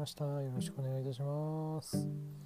ました。よろしくお願いいたします。